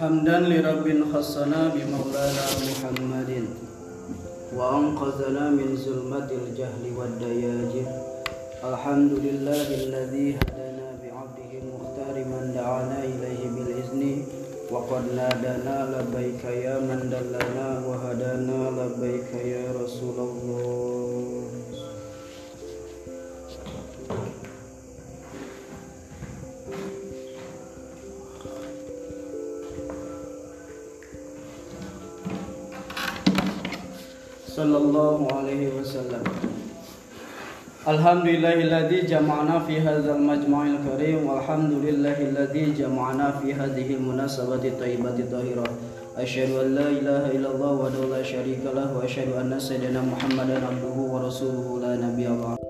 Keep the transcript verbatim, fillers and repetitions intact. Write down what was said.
Hamdan li rabbin khassana bi maulana Muhammadin wa anqazana min zulmatil jahli wad dayajir. Alhamdulillahilladzi hadana bi 'abdihi mukhtari man da'ana ilaihi bil izni wa qad nadana labbaika ya man dallana wa hadana labbaika ya Rasulullah. Sallallahu alaihi wasallam. Alhamdulillahilladzi jama'ana fi hadzal majma'il karim walhamdulillahilladzi jama'ana fi hadhihi munasabati thayyibati thahirah. Asyhadu an la ilaha illallah wa la syarika lahu wa asyhadu anna sayyidina Muhammadan abduhu wa rasuluhu la nabiyya ba'dahu.